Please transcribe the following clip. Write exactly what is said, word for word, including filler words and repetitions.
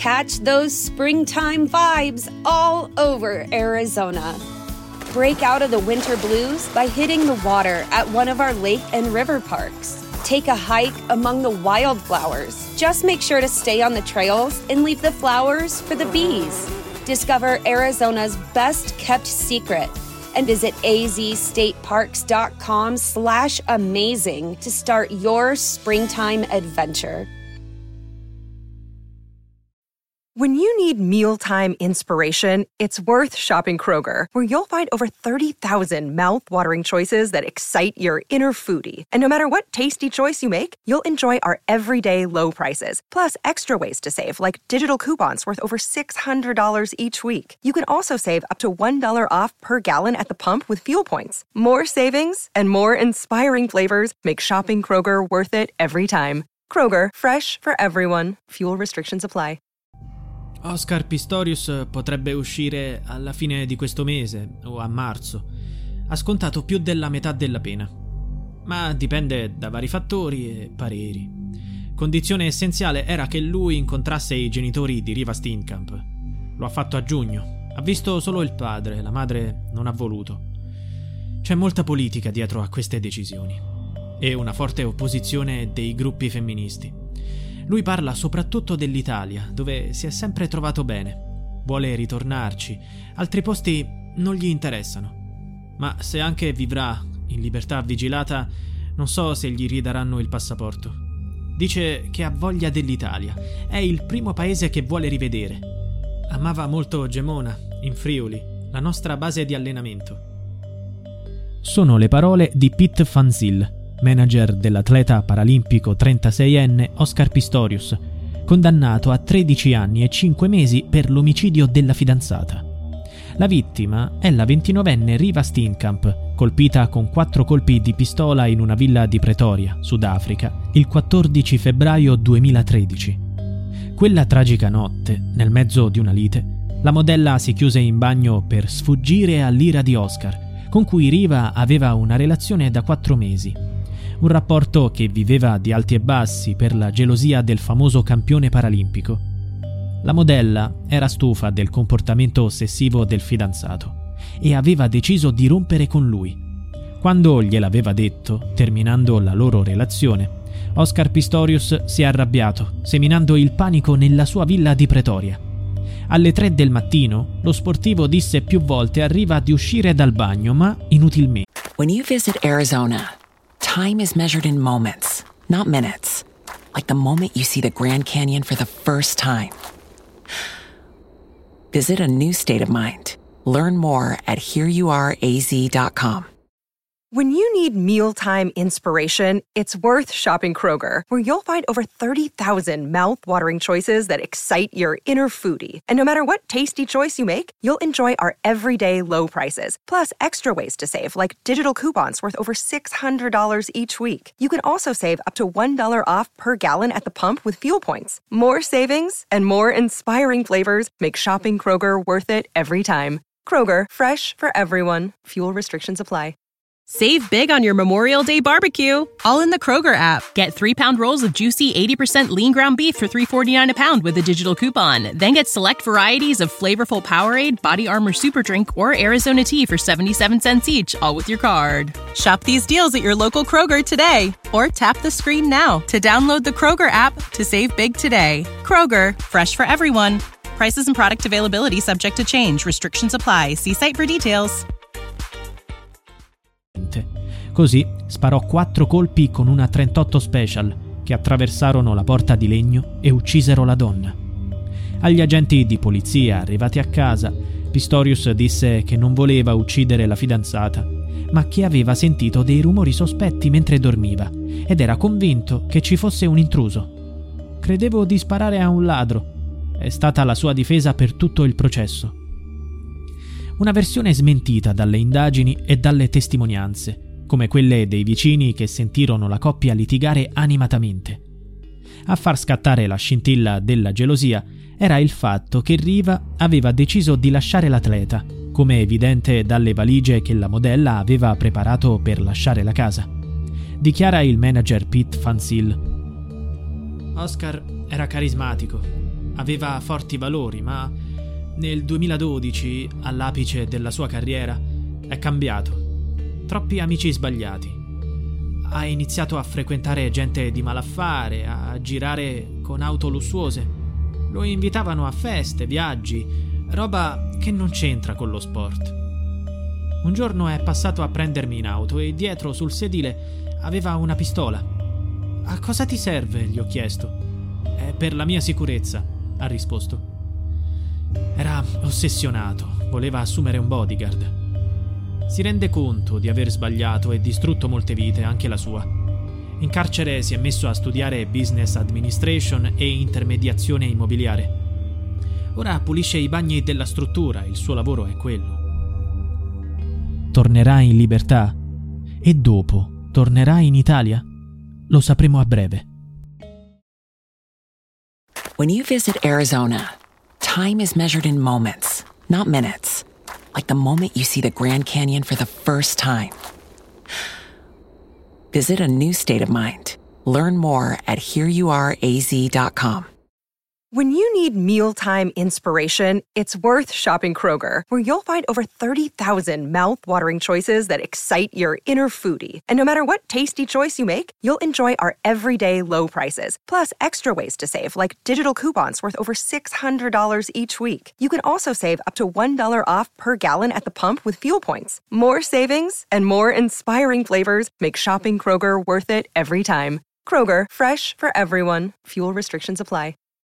Catch those springtime vibes all over Arizona. Break out of the winter blues by hitting the water at one of our lake and river parks. Take a hike among the wildflowers. Just make sure to stay on the trails and leave the flowers for the bees. Discover Arizona's best-kept secret and visit azstateparks.com slash amazing to start your springtime adventure. When you need mealtime inspiration, it's worth shopping Kroger, where you'll find over thirty thousand mouth-watering choices that excite your inner foodie. And no matter what tasty choice you make, you'll enjoy our everyday low prices, plus extra ways to save, like digital coupons worth over six hundred dollars each week. You can also save up to one dollar off per gallon at the pump with fuel points. More savings and more inspiring flavors make shopping Kroger worth it every time. Kroger, fresh for everyone. Fuel restrictions apply. Oscar Pistorius potrebbe uscire alla fine di questo mese o a marzo. Ha scontato più della metà della pena, ma dipende da vari fattori e pareri. Condizione essenziale era che lui incontrasse i genitori di Reeva Steenkamp. Lo ha fatto a giugno. Ha visto solo il padre, la madre non ha voluto. C'è molta politica dietro a queste decisioni e una forte opposizione dei gruppi femministi. Lui parla soprattutto dell'Italia, dove si è sempre trovato bene. Vuole ritornarci, altri posti non gli interessano. Ma se anche vivrà in libertà vigilata, non so se gli ridaranno il passaporto. Dice che ha voglia dell'Italia, è il primo paese che vuole rivedere. Amava molto Gemona, in Friuli, la nostra base di allenamento. Sono le parole di Pete Van Zyl, manager dell'atleta paralimpico trentaseienne Oscar Pistorius, condannato a tredici anni e cinque mesi per l'omicidio della fidanzata. La vittima è la ventinovenne Reeva Steenkamp, colpita con quattro colpi di pistola in una villa di Pretoria, Sudafrica, il quattordici febbraio duemilatredici. Quella tragica notte, nel mezzo di una lite, la modella si chiuse in bagno per sfuggire all'ira di Oscar, con cui Reeva aveva una relazione da quattro mesi. Un rapporto che viveva di alti e bassi per la gelosia del famoso campione paralimpico. La modella era stufa del comportamento ossessivo del fidanzato e aveva deciso di rompere con lui. Quando gliel'aveva detto, terminando la loro relazione, Oscar Pistorius si è arrabbiato, seminando il panico nella sua villa di Pretoria. Alle tre del mattino, lo sportivo disse più volte a Reeva di uscire dal bagno, ma inutilmente. When you visit Arizona, time is measured in moments, not minutes. Like the moment you see the Grand Canyon for the first time. Visit a new state of mind. Learn more at here you are a z dot com. When you need mealtime inspiration, it's worth shopping Kroger, where you'll find over thirty thousand mouth-watering choices that excite your inner foodie. And no matter what tasty choice you make, you'll enjoy our everyday low prices, plus extra ways to save, like digital coupons worth over six hundred dollars each week. You can also save up to one dollar off per gallon at the pump with fuel points. More savings and more inspiring flavors make shopping Kroger worth it every time. Kroger, fresh for everyone. Fuel restrictions apply. Save big on your Memorial Day barbecue, all in the Kroger app. Get three-pound rolls of juicy eighty percent lean ground beef for three forty-nine a pound with a digital coupon. Then get select varieties of flavorful Powerade, Body Armor Super Drink, or Arizona tea for seventy-seven cents each, all with your card. Shop these deals at your local Kroger today, or tap the screen now to download the Kroger app to save big today. Kroger, fresh for everyone. Prices and product availability subject to change. Restrictions apply. See site for details. Così sparò quattro colpi con una trentotto Special che attraversarono la porta di legno e uccisero la donna. Agli agenti di polizia arrivati a casa, Pistorius disse che non voleva uccidere la fidanzata, ma che aveva sentito dei rumori sospetti mentre dormiva ed era convinto che ci fosse un intruso. Credevo di sparare a un ladro. È stata la sua difesa per tutto il processo. Una versione smentita dalle indagini e dalle testimonianze, come quelle dei vicini che sentirono la coppia litigare animatamente. A far scattare la scintilla della gelosia era il fatto che Reeva aveva deciso di lasciare l'atleta, come evidente dalle valigie che la modella aveva preparato per lasciare la casa. Dichiara il manager Pete Van Zyl. Oscar era carismatico, aveva forti valori, ma nel duemiladodici, all'apice della sua carriera, è cambiato. Troppi amici sbagliati. Ha iniziato a frequentare gente di malaffare, a girare con auto lussuose. Lo invitavano a feste, viaggi, roba che non c'entra con lo sport. Un giorno è passato a prendermi in auto e dietro sul sedile aveva una pistola. «A cosa ti serve?» gli ho chiesto. «È per la mia sicurezza», ha risposto. Era ossessionato, voleva assumere un bodyguard. Si rende conto di aver sbagliato e distrutto molte vite, anche la sua. In carcere si è messo a studiare business administration e intermediazione immobiliare. Ora pulisce i bagni della struttura, il suo lavoro è quello. Tornerà in libertà? E dopo tornerà in Italia? Lo sapremo a breve. When you visit Arizona, time is measured in moments, not minutes. Like the moment you see the Grand Canyon for the first time. Visit a new state of mind. Learn more at here you are a z dot com. When you need mealtime inspiration, it's worth shopping Kroger, where you'll find over thirty thousand mouth-watering choices that excite your inner foodie. And no matter what tasty choice you make, you'll enjoy our everyday low prices, plus extra ways to save, like digital coupons worth over six hundred dollars each week. You can also save up to one dollar off per gallon at the pump with fuel points. More savings and more inspiring flavors make shopping Kroger worth it every time. Kroger, fresh for everyone. Fuel restrictions apply.